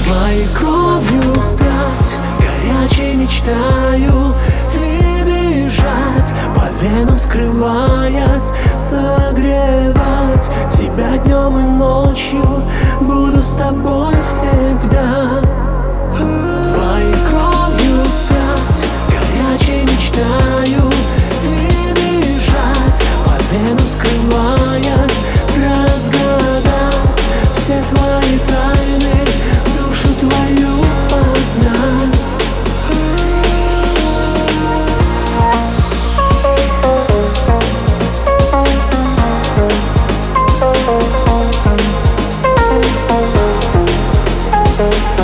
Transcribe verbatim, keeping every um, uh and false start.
Твоей кровью стать, горячей мечтаю и бежать, по венам скрываясь, согревать тебя днем и ночью, буду с тобой всегда. Твоей кровью стать, горячей мечтаю и бежать, по венам скрываясь, разгадать все твои тайны, душу твою познать. Thank you.